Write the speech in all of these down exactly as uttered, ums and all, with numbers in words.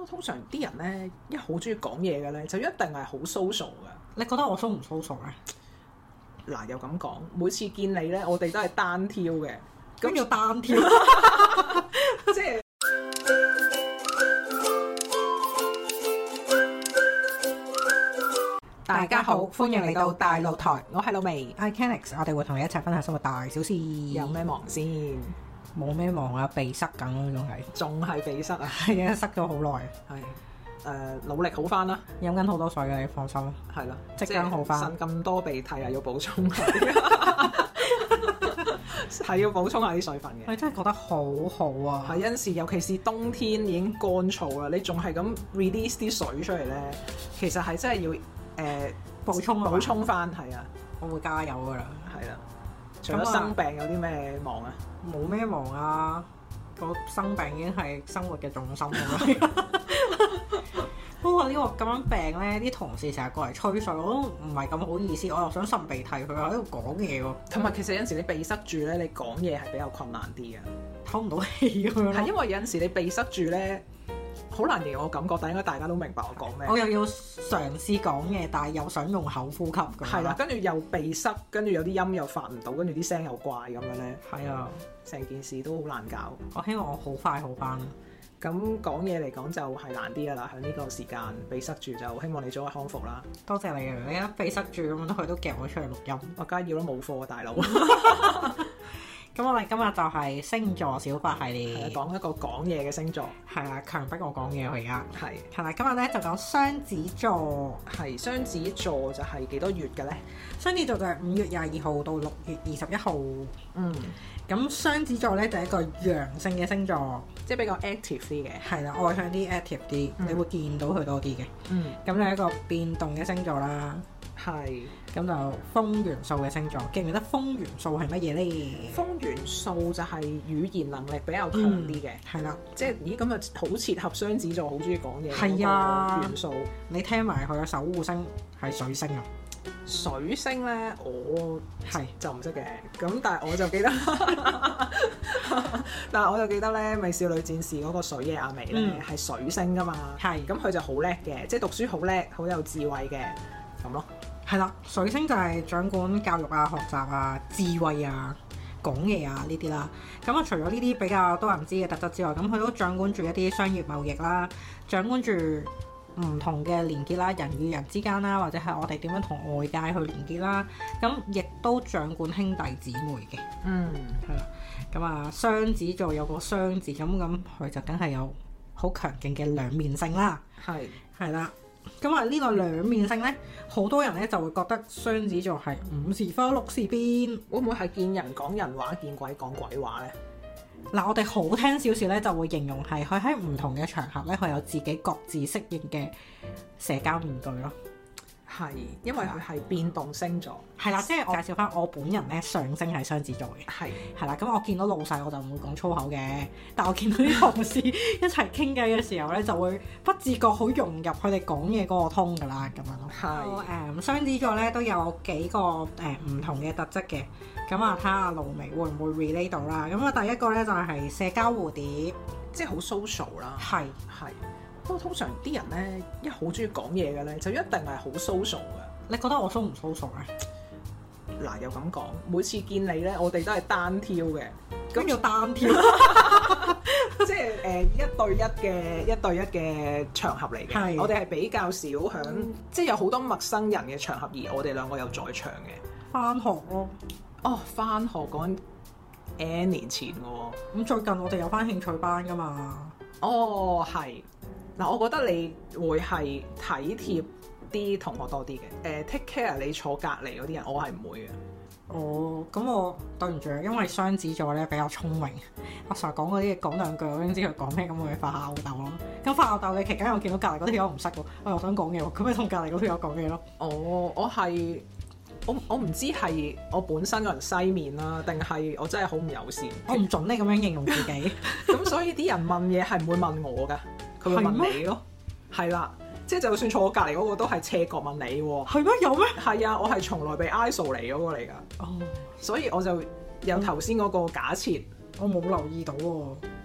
不過通常啲人咧一好中意講嘢嘅咧，就一定係好 social 嘅。 你覺得我 so 唔 social 咧？ 嗱，又咁講，每次見你咧，我哋都係單挑嘅。 咁要單挑， 即係大家好，歡迎嚟到大露台，我係老味， 我係 Kenix， 我哋會同你一齊分享生活大小事。 有咩忙先？ 冇咩忙啊，鼻塞緊咯，仲係仲係鼻塞啊？ 係啊，塞咗好耐。 係誒、呃，努力好翻啦， 飲緊好多水嘅，你放心。 係啦， 即刻好翻。 擤咁多鼻涕啊，要補充下，係要補充下啲水分嘅。 你真係覺得好好啊！ 係有陣時，尤其是冬天已經乾燥啦，你仲係咁 release 啲水出嚟咧，其實係真係要誒、呃、 補充補充翻。係啊， 我會加油噶啦。係啦，除咗生病有啲咩忙啊？ 冇咩忙啊，個生病已經係生活嘅重心咁不過呢個咁樣病咧，啲同事成日過嚟吹水，我都唔係咁好意思，我又想擤鼻涕，佢又喺度講嘢喎。同埋其實有陣時你鼻塞住咧，你講嘢係比較困難啲嘅，透唔到氣咁樣。係因為有陣時你鼻塞住咧，好難形容我感覺，但應該大家都明白我講咩。我又要嘗試講嘢，但係又想用口呼吸咁。係啦，跟住又鼻塞，跟住有啲音又發唔到，跟住啲聲又怪咁樣咧。係啊，成件事都好難搞。我希望我好快好翻。咁講嘢嚟講就係難啲噶啦，喺呢個時間鼻塞住，就希望你早日康復啦。多謝你啊！你一鼻塞住咁，佢都夾我出嚟錄音。我梗係要啦，冇貨啊，大佬。咁我哋今日就係星座小法系列，講一個講嘢嘅星座。係啊，強迫我講嘢我而家。係係啦，今日咧就講雙子座。係雙子座就係幾多月嘅咧？雙子座就係五月廿二號到六月二十一號。嗯。咁雙子座咧就係一個陽性嘅星座，即係比較 active 啲嘅。係啦，外向啲 active 啲，嗯、你會見到佢多啲嘅。嗯。咁就係一個變動嘅星座啦。係。咁就風元素嘅星座，記唔記得風元素係乜嘢咧？風元素就係語言能力比較強啲嘅。係啦、嗯，即係咦咁啊，好切合雙子座好中意講嘢。係啊，元素。你聽埋佢嘅守護星係水星啊。水星咧，我係就唔識嘅，咁但係我就記得，但係我就記得咧，美少女戰士嗰個水野亞美咧係、嗯、水星噶嘛，係，咁佢就好叻嘅，即係讀書好叻，好有智慧嘅，咁咯，係啦，水星就係掌管教育啊、學習啊、智慧啊、講嘢啊呢啲啦，咁啊除咗呢啲比較多人知嘅特質之外，咁佢都掌管住一啲商業貿易啦，掌管住唔同嘅連結啦，人與人之間啦，或者係我哋點樣同外界去連結啦，咁亦都掌管兄弟姊妹嘅。嗯，係啦。咁啊，雙子座有個雙字，咁咁佢就梗係有好強勁嘅兩面性啦。係係啦。咁啊，呢個兩面性咧，好多人咧就會覺得雙子座係五時花六時變，會唔會係見人講人話，見鬼講鬼話咧？嗱，我哋好聽少少咧，就會形容係佢喺唔同嘅場合咧，佢有自己各自適應嘅社交面具咯。係，因為佢係變動星座。係啦，即係我介紹翻我本人咧，上升係雙子座嘅。係係啦，咁我見到老細我就唔會講粗口嘅，但我見到啲同事一齊傾偈嘅時候咧，就會不自覺好融入佢哋講嘢嗰個通噶啦，咁樣咯。係誒，雙子座咧都有幾個誒唔、呃、同嘅特質嘅。咁啊，睇下露媚會唔會 relate 到啦？咁啊，第一個咧就係社交蝴蝶，即係好 social 啦。係係。不過通常啲人咧一好中意講嘢嘅咧，就一定係好 social 嘅。你覺得我 so 唔 social 咧？嗱，又咁講，每次見你咧，我哋都係單挑嘅。咁要單挑，即係誒、呃、一對一嘅一對一嘅場合嚟嘅。係。我哋係比較少響，嗯、即係有好多陌生人嘅場合，而我哋兩個有在場嘅。返學咯。哦，返學講 N 年前嘅喎。咁最近我哋有返興趣班㗎嘛？哦，係。嗱，我覺得你會係體貼啲同學多啲嘅，誒、呃、take care 你坐隔離嗰啲人，我係唔會嘅。哦，咁我對唔住，因為雙子座咧比較聰明，我成日講嗰啲嘢講兩句，我已經知佢講咩，咁我會發下吽哣咯。咁發吽哣嘅期間，我見到隔離嗰條友唔識喎，我又想講嘢喎，咁咪同隔離嗰條友講嘢咯。哦，我係我我唔知係我本身個人西面啦，定係我真係好唔友善。我唔準你咁樣形容自己。咁所以啲人問嘢係唔會問我㗎。佢會問你咯，係啦，即係就算坐我隔離嗰個都係斜角問你喎。係咩？有咩？係啊，我係從來被 I S O 嚟嗰個嚟㗎。哦，所以我就有頭先嗰個假設，我冇留意到喎。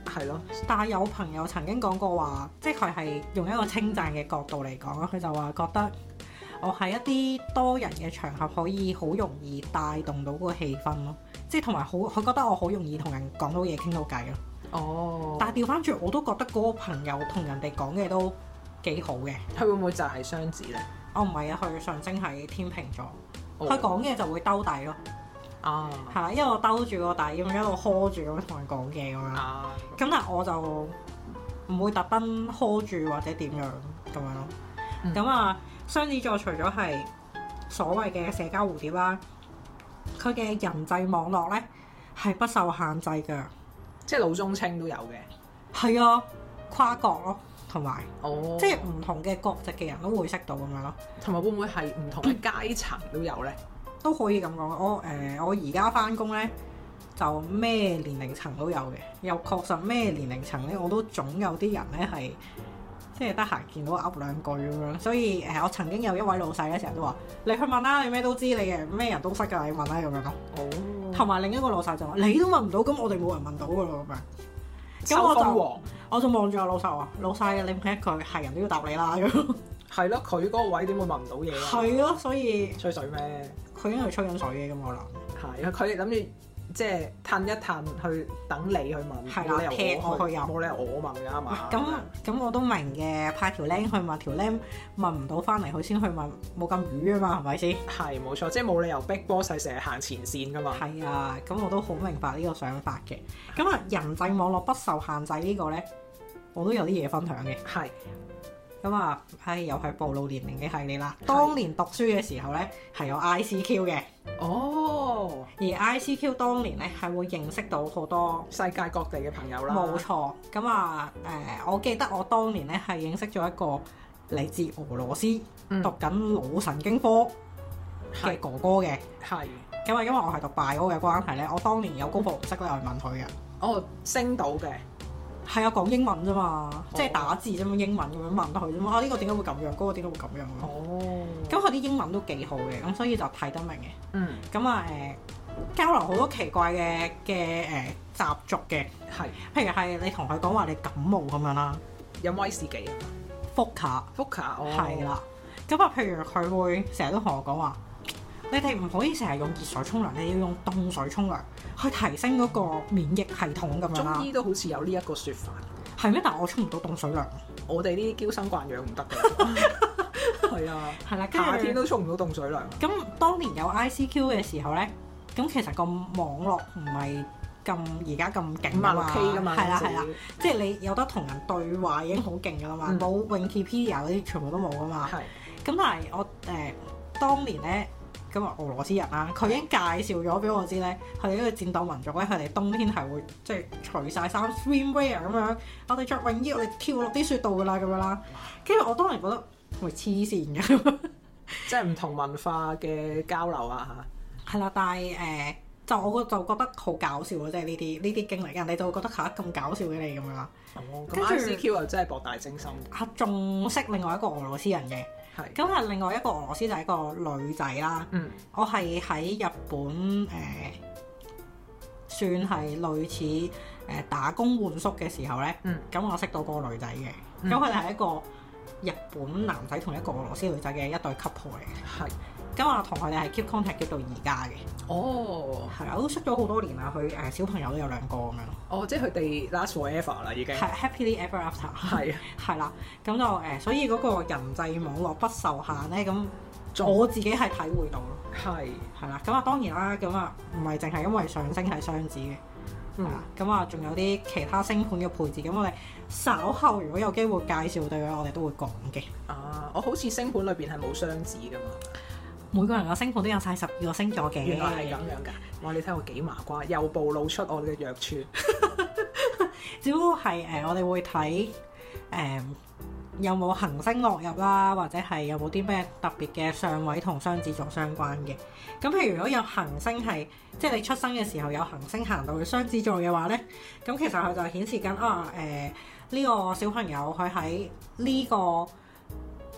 係咯。 但係有朋友曾經講過話，即係佢係用一個稱讚嘅角度嚟講，佢就話覺得我喺一啲多人嘅場合可以好容易帶動到個氣氛咯，即係同埋好佢覺得我好容易同人講到嘢傾到偈咯。哦。但係調翻轉我都覺得嗰個朋友同人哋講嘅都幾好嘅。 佢會唔會就係雙子咧？ 哦，唔係啊，佢上升係天秤座，佢講嘅就會兜底咯。啊，係啦，因為我兜住個底咁一路 hold 住咁同人講嘢咁樣。啊，咁但係我就唔會特登 hold 住或者點樣咁樣咯。咁、嗯、啊，雙子座除咗係所謂嘅社交蝴蝶啦，佢嘅人際網絡咧係不受限制㗎， 即係老中青都有嘅。 係啊，跨國咯。同埋， 哦、 即係唔同嘅國籍嘅人都會識到咁樣咯。 同埋會唔會係唔同嘅階層都有咧？ 都可以咁講。我誒、呃、我而家返工咧，就咩年齡層都有嘅。又確實咩年齡層咧，我都總有啲人咧係即係得閒見到噏兩句咁樣。所以誒、呃，我曾經有一位老細咧，成日都話：你去問啦，你咩都知，你嘅咩人都識㗎，你問啦咁樣咯。哦。同埋另一個老細就話：你都問唔到，咁我哋冇人問到㗎咯咁樣。咁我就我就望住阿老細話：老細，你問一句係人都要答你啦咁。 係咯，佢嗰個位點會問唔到嘢啊？ 係咯，所以吹水咩？ 佢應該係吹緊水嘅咁可能。 係，佢諗住即係褪一褪去等你去問， 係啦，踢我去入， 冇理由我問㗎嘛。 咁咁我都明嘅，派條僆去問條僆問唔到翻嚟，佢先去問，冇咁瘀啊嘛，係咪先？ 係冇錯，即係冇理由逼 boss 成日行前線㗎嘛。係啊，咁我都好明白呢個想法嘅。咁啊，人際網絡不受限制個呢個咧，我都有啲嘢分享嘅。係。咁啊，唉，又係暴露年齡嘅系列啦。當年讀書嘅時候咧，係有 I C Q 嘅。哦。而 I C Q 當年咧係會認識到好多世界各地嘅朋友啦。 冇錯。咁啊，誒、呃，我記得我當年咧係認識咗一個嚟自俄羅斯、嗯、讀緊腦神經科嘅哥哥嘅。係。咁啊，因為我係讀 bio 嘅關係咧，我當年有功課唔識咧，我去問佢嘅。 哦，升到嘅。 係啊，講英文啫嘛，哦、即係打字啫嘛，英文咁樣問佢啫嘛。啊，呢、這個點解會咁樣？嗰、那個點解會咁樣？哦，咁佢啲英文都幾好嘅，咁所以就睇得明嘅。嗯，咁啊誒，交流好多奇怪嘅嘅誒習俗嘅，係是，譬如係你同佢講話你感冒咁樣啦， 有威士忌啊， 福卡，福卡，係啦。咁啊，譬如佢會成日都同我講話，你哋唔可以成日用熱水沖涼，你要用凍水沖涼，去提升嗰個免疫系統咁樣啦。中醫都好似有呢一個説法，係咩？但係我沖唔到凍水涼，我哋呢啲嬌生慣養唔得嘅。係啊，係啦，夏天都沖唔到凍水涼。咁當年有 I C Q 嘅時候咧，咁其實個網絡唔係咁而家咁勁啊嘛，係啦係啦，即係你有得同人對話已經好勁噶啦嘛，冇 Wikipedia 嗰啲全部都冇噶嘛。係。咁但係我誒、呃、當年咧。咁啊，俄羅斯人啦，佢已經介紹咗俾我知咧，佢哋呢個戰鬥民族咧，佢哋冬天係會即係除晒衫 swimwear 咁樣，我哋着泳衣，我哋跳落啲雪度噶啦，咁樣啦。跟住我當年覺得喂黐線嘅，即係唔同文化嘅交流啊嚇。係啦，但係誒、呃，就我就覺得好搞笑咯，即係呢啲呢啲經歷，人哋就會覺得嚇咁搞笑嘅你咁樣啦。哦，咁 I C Q 又真係博大精深。啊，仲識另外一個俄羅斯人嘅。咁係另外一個俄羅斯就係一個女仔啦。嗯，我係喺日本誒、呃，算係類似誒、呃、打工換宿嘅時候咧。嗯，咁我識到嗰個女仔嘅。咁佢哋係一個日本男仔同一個俄羅斯女仔嘅一對 couple 嚟嘅。係。咁我同佢哋係 keep contact keep 到而家嘅。哦，係啊，我都識咗好多年啦。佢誒、呃、小朋友都有兩個咁樣。哦，即係佢哋 last forever 啦，已經係 happily ever after。係啊，係啦，咁就誒、呃，所以嗰個人際網絡不受限咧，咁我自己係體會到咯。係係啦，咁啊當然啦，咁啊唔係淨係因為上升係雙子嘅，嗯，咁啊仲有啲其他星盤嘅配置，咁我哋稍後如果有機會介紹對嘅，我哋都會講嘅。啊，我好似星盤裏邊係冇雙子噶嘛。每個人嘅星盤都有晒十二個星座嘅，原來係咁樣㗎。哇！你睇我幾麻瓜，又暴露出我哋嘅弱處。只不過係誒、呃，我哋會睇誒、呃、有冇行星落入啦，或者係有冇啲咩特別嘅相位同雙子座相關嘅。咁譬如如果有行星係，即係你出生嘅時候有行星行到去雙子座嘅話咧，咁其實佢就顯示緊啊誒呢、呃呢個小朋友佢喺呢個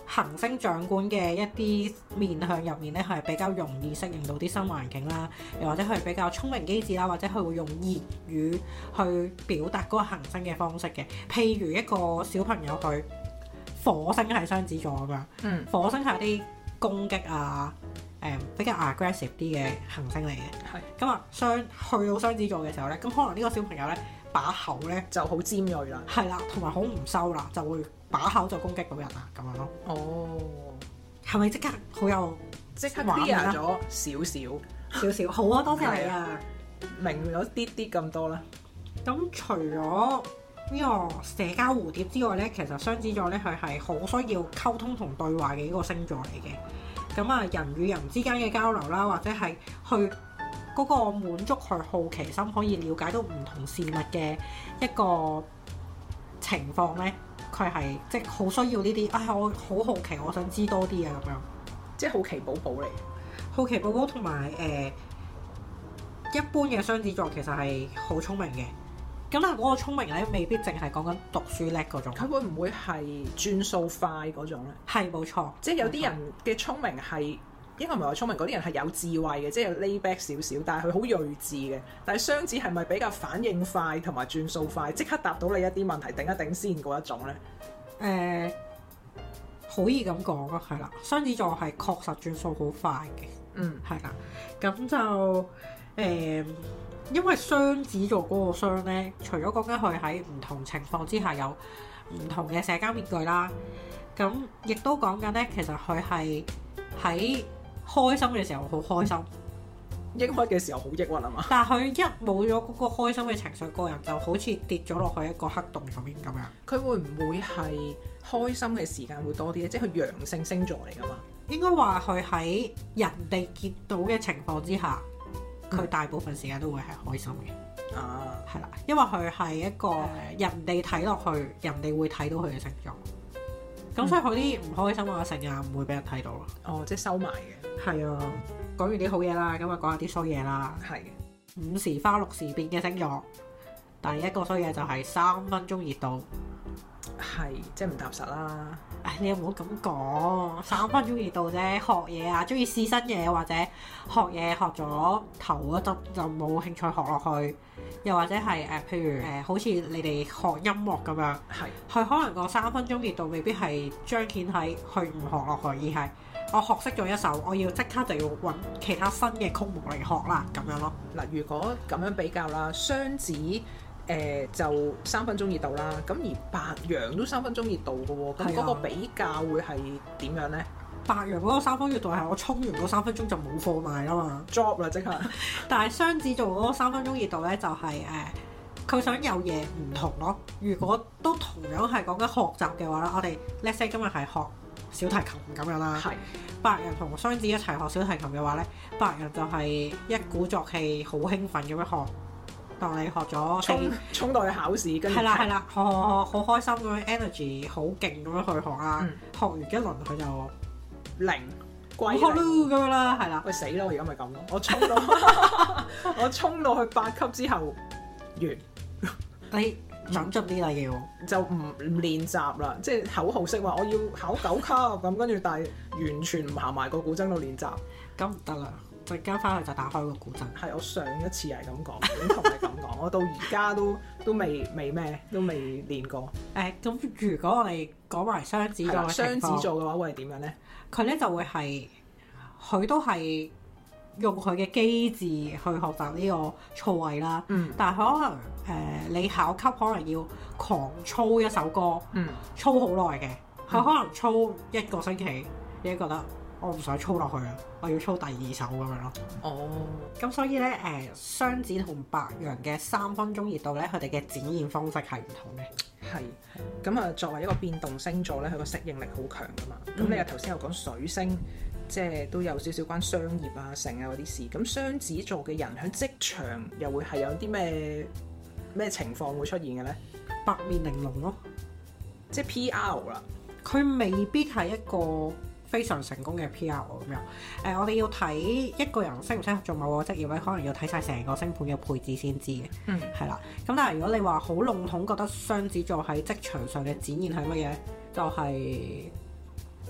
行星掌管嘅一啲面向入面咧，係比較容易適應到啲新環境啦，又或者佢比較聰明機智啦，或者佢會用言語去表達嗰個行星嘅方式嘅。譬如一個小朋友去火星係雙子座咁樣，嗯、火星係一啲攻擊啊，誒、嗯、比較 aggressive 啲嘅行星嚟嘅。咁啊是，雙去到雙子座嘅時候咧，咁可能呢個小朋友咧把口咧就好尖鋭啦，係啦，同埋好唔收啦，就會把口就攻擊到人啊咁樣咯。哦，係咪即刻好有即刻 clear 咗少少少少？好啊，多謝你啊，明咗啲啲咁多啦。咁除咗呢個社交蝴蝶之外咧，其實雙子座咧佢係好需要溝通同對話嘅一個星座嚟嘅。咁啊，人與人之間嘅交流啦，或者係去嗰個滿足佢好奇心，可以了解到唔同事物嘅一個情況咧，佢係即係好需要呢啲。啊，我好好奇，我想知多啲啊，咁樣即係好奇寶寶嚟。好奇寶寶同埋誒一般嘅雙子座其實係好聰明嘅。咁但係嗰個聰明咧，未必淨係講緊讀書叻嗰種。佢會唔會係轉數快嗰種咧？係冇錯，即係有啲人嘅聰明係應該唔係話聰明，嗰啲人係有智慧嘅，即係 lay back 少少，但係佢好睿智嘅。但係雙子係咪比較反應快同埋轉數快，即刻答到你一啲問題，頂一頂先嗰一種咧？誒、呃，可以咁講咯，係啦，雙子座係確實轉數好快嘅。嗯，係啦，咁就誒。呃因為雙子座嗰個雙咧，除咗講緊佢喺唔同情況之下有唔同嘅社交面具啦，咁亦都講緊咧，其實佢係喺開心嘅時候好開心，抑鬱嘅時候好抑鬱啊嘛。但係佢一冇咗嗰個開心嘅情緒，個人就好似跌咗落去一個黑洞入面咁樣。佢會唔會係開心嘅時間會多啲咧？即係佢陽性星座嚟噶嘛？應該話佢喺人哋見到嘅情況之下。佢大部分時間都會係開心嘅，啊，係啦，因為佢係一個人哋睇落去，人哋會睇到佢嘅星座，咁、嗯、所以佢啲唔開心嘅成日唔會俾人睇到咯。哦，即係收埋嘅。係啊，講完啲好嘢啦，咁啊講下啲衰嘢啦。係嘅。五時花六時變嘅星座，第一個衰嘢就係三分鐘熱度。係，即係唔踏實啦。唉，你又唔好咁講，三分鐘熱度啫。學嘢啊，中意試新嘢或者學嘢學咗頭嗰陣就冇興趣學落去，又或者係誒、呃，譬如誒、呃，好似你哋學音樂咁樣，係佢可能個三分鐘熱度未必係彰顯喺去唔學落去，而係我學識咗一首，我要即刻就要揾其他新嘅曲目嚟學啦，咁樣咯。嗱，如果咁樣比較啦，雙子。誒、呃、就三分鐘熱度啦，咁而白羊都三分鐘熱度嘅喎，咁嗰個比較會係點樣咧？白羊嗰個三分鐘熱度係我沖完嗰三分鐘就冇貨賣啦嘛 ，drop 啦即刻。但係雙子座嗰個三分鐘熱度咧，就係誒佢想有嘢唔同咯。如果都同樣係講緊學習嘅話咧，我哋 let's say 今日係學小提琴咁樣啦。係。白羊同雙子一齊學小提琴嘅話咧，白羊就係一鼓作氣，好興奮咁樣學。當你學咗衝衝到去考試，跟住係啦係啦，學學學好開心咁樣 energy 好勁咁樣去學啦，嗯、學完一輪佢就零歸零咁樣啦，係啦。喂死啦！我而家咪咁咯，我衝到我衝到去八級之後完，你諗盡啲啦要，就唔唔練習啦，即係口號式話我要考九級咁，跟住但係完全唔行埋個古箏度練習，咁唔得啦。陣間翻去就打開個古箏。係我上一次係咁講，點同你咁講？我到而家都都未未咩，都未練過。誒、欸，咁如果我哋講埋雙子座嘅情況，雙子座嘅話會係點樣咧？佢咧就會係佢都係用佢嘅機智去學習呢個操位啦。嗯。但係可能誒、呃，你考級可能要狂操一首歌，嗯，操好耐嘅。佢可能操一個星期，你覺得？我唔想操落去啊！我要操第二首咁樣咯。哦，咁所以咧，誒、呃，雙子同白羊嘅三分鐘熱度咧，佢哋嘅展現方式係唔同嘅。係，咁啊，作為一個變動星座咧，佢個適應力好強噶嘛。咁、嗯、你又頭先又講水星，即係都有少少關商業啊、成啊嗰啲事。咁雙子座嘅人喺職場又會係有啲咩咩情況會出現嘅咧？八面玲瓏咯，即係 P R 啦。佢未必係一個非常成功嘅 P R 咁樣，誒、呃，我哋要睇一個人適唔適合做某個職業咧，可能要睇晒成個星盤嘅配置先知嘅，嗯，係啦。咁但係如果你話好籠統覺得雙子座喺職場上嘅展現係乜嘢，就係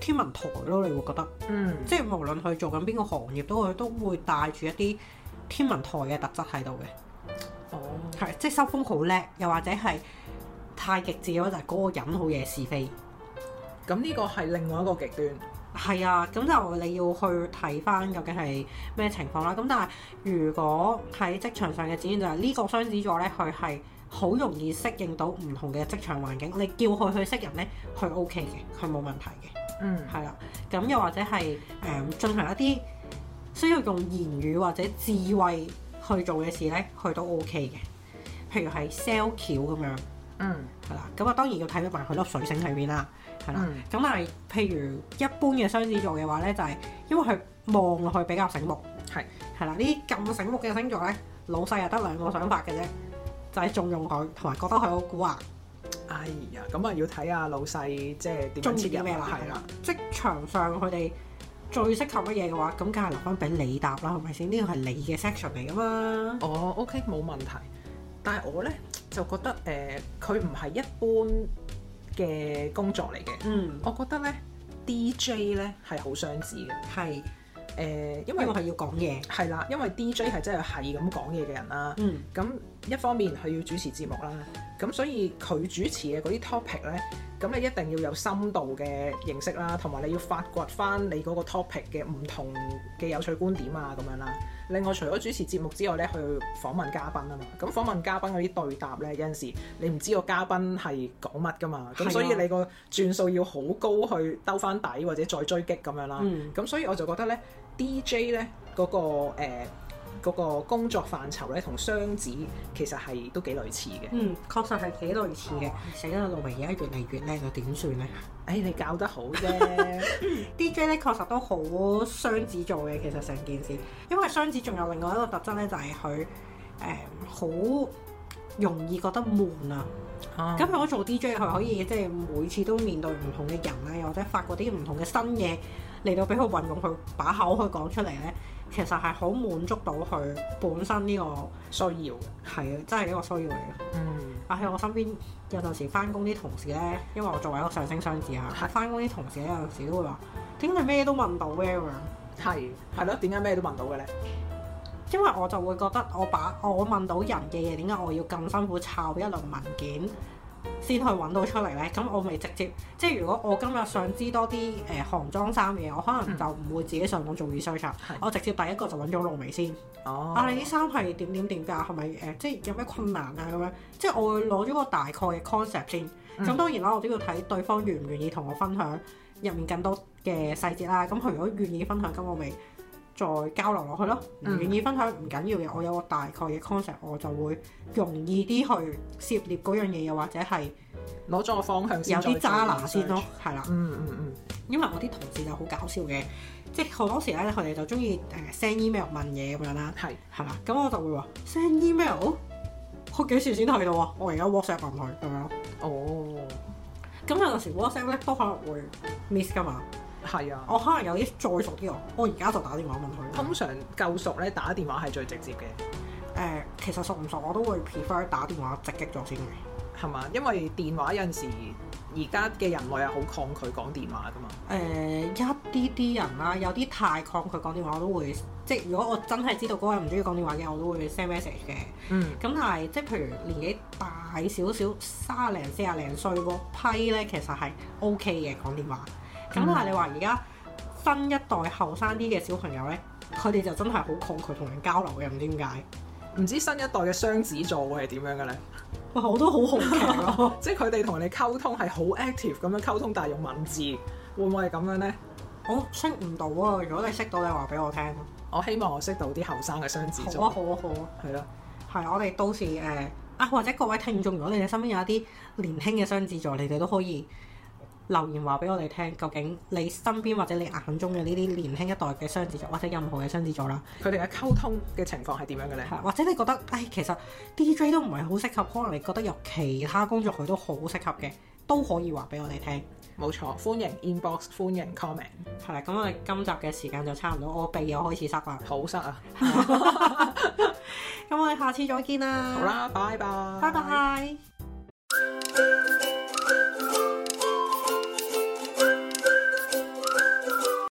天文台咯，你會覺得， 嗯， 即係無論佢做緊邊個行業，都會都會帶住一啲天文台嘅特質喺度嘅。 哦， 係，即係收風好叻，又或者係太極致嘅話，就係嗰個人好惹是非。 咁呢個係另外一個極端。 係啊，咁就你要去睇翻究竟係咩情況啦。咁但係如果喺職場上嘅展現就係呢個雙子座咧，佢係好容易適應到唔同嘅職場環境。你叫佢去識人咧，佢 OK 嘅，佢冇問題嘅。 嗯， 係啦。咁又或者係誒、呃、進行一啲需要用言語或者智慧去做嘅事咧，佢都 OK 嘅。譬如係 sell 橋咁樣， 嗯， 係啦。咁啊當然要睇埋佢粒水星喺邊啦。係啦，咁、嗯、但係譬如一般嘅雙子座嘅話咧，就係、是、因為佢望落去比較醒目，係係啦，呢啲咁醒目嘅星座咧，老細又得兩個想法嘅啫，就係重用佢，同埋覺得佢好蠱惑。 哎呀，咁啊要睇下老細即係點樣切入啦，係啦。 職場上佢哋最適合乜嘢嘅話，咁梗係留翻俾你答啦，係咪先？呢個係你嘅 section 嚟噶嘛。 哦 ，OK，冇問題。但係我咧就覺得誒，佢唔係一般嘅工作嚟嘅，嗯，我覺得咧 D J 咧係好雙子嘅，係誒、呃，因為我係要講嘢，係啦，因為 D J 係真係係咁講嘢嘅人啦，嗯，咁一方面佢要主持節目啦，咁所以佢主持嘅嗰啲 topic 咧，咁你一定要有深度嘅認識啦，同埋你要發掘翻你嗰個 topic 嘅唔同嘅有趣觀點啊，咁樣啦。另外，除咗主持節目之外咧，去訪問嘉賓啊嘛。咁訪問嘉賓嗰啲對答咧，有陣時你唔知個嘉賓係講乜噶嘛。咁所以你個轉數要好高去兜翻底，或者再追擊咁樣啦。咁、嗯、所以我就覺得咧 ，D J 咧嗰、嗰個誒。呃嗰個工作範疇咧，同雙子其實係都幾類似嘅。嗯，確實係幾類似嘅。死啦，露媚而家越嚟越叻，又點算咧？誒、哎，你教得好啫。D J 咧確實都好雙子座嘅，其實成件事。因為雙子仲有另外一個特質咧，就係佢誒好容易覺得悶啊。咁如果做 D J，佢可以即係每次都面對唔同嘅人咧，或者發掘啲唔同嘅新嘢嚟到俾佢運用佢把口去講出嚟咧。其實係好滿足到佢本身呢個需要嘅，係啊，真係一個需要嚟嘅。嗯，啊喺我身邊有陣時翻工啲同事咧，因為我作為一個上升雙子啊，翻工啲同事咧有陣時都會話：點解咩都問到嘅咁樣？係係咯，點解咩都問到嘅咧？因為我就會覺得我把我問到人嘅嘢，點解我要咁辛苦抄一輪文件先去揾到出嚟咧？咁我咪直接即係如果我今日想知多啲誒、呃、韓裝衫嘅嘢，我可能就唔會自己上網做 research，嗯、我直接第一個就揾咗露媚先。哦，啊你啲衫係點點點㗎？係咪誒即係有咩困難啊咁樣？即係我會攞咗個大概嘅 concept 先。咁、嗯、當然啦，我都要睇對方願唔願意同我分享入面更多嘅細節啦。咁佢如果願意分享，咁我咪再交流落去咯。唔願意分享唔緊要嘅，我有個大概嘅 concept，我就會容易啲去涉獵嗰樣嘢，又或者係攞咗個方向先，有啲揸拿先咯，係啦。嗯嗯嗯。因為我啲同事就好搞笑嘅，即係好多時咧，佢哋就中意誒 send email 問嘢咁樣啦。係係啦，咁我就會話 send email，我幾時先去到啊？我而家 WhatsApp 問佢咁樣咯。哦。咁有陣時 WhatsApp 咧都可能會 miss 噶嘛。係啊，我可能有啲再熟啲，我而家就打電話問佢。通常夠熟咧，打電話係最直接嘅。誒、呃，其實熟唔熟我都會 prefer 打電話直擊咗先嘅，係嘛？因為電話有陣時而家嘅人類係好抗拒講電話噶嘛。誒、呃，一啲啲人啦，有啲太抗拒講電話，我都會即係如果我真係知道嗰個人唔中意講電話嘅，我都會 send message 嘅。嗯。咁但係即係譬如年紀大少少，三廿零四廿零歲嗰批咧，其實係 OK 嘅講電話。咁、嗯、但係你話而家新一代後生啲嘅小朋友咧，佢哋就真係好抗拒同人交流嘅，唔知點解？唔知新一代嘅雙子座會係點樣嘅咧？哇！我都好好奇咯，即係佢哋同人哋溝通係好 active 咁樣溝通，但係用文字，會唔會係咁樣咧？我識唔到啊！如果你識到，你話俾我聽。我希望我識到啲後生嘅雙子座。好啊，好啊，好啊，係咯，係我哋到時誒、呃、啊，或者各位聽眾，如果你哋身邊有一啲年輕嘅雙子座，你哋都可以留言話俾我哋聽，究竟你身邊或者你眼中嘅呢啲年輕一代嘅雙子座，或者任何嘅雙子座啦，佢哋嘅溝通嘅情況係點樣嘅咧？或者你覺得，唉，其實 D J 都唔係好適合，可能你覺得有其他工作佢都好適合嘅，都可以話俾我哋聽。冇錯，歡迎 inbox， 歡迎 comment。係啦，咁我哋今集嘅時間就差唔多，我鼻又開始塞啦，好塞啊！咁我哋下次再見啦。好啦，拜拜，拜拜。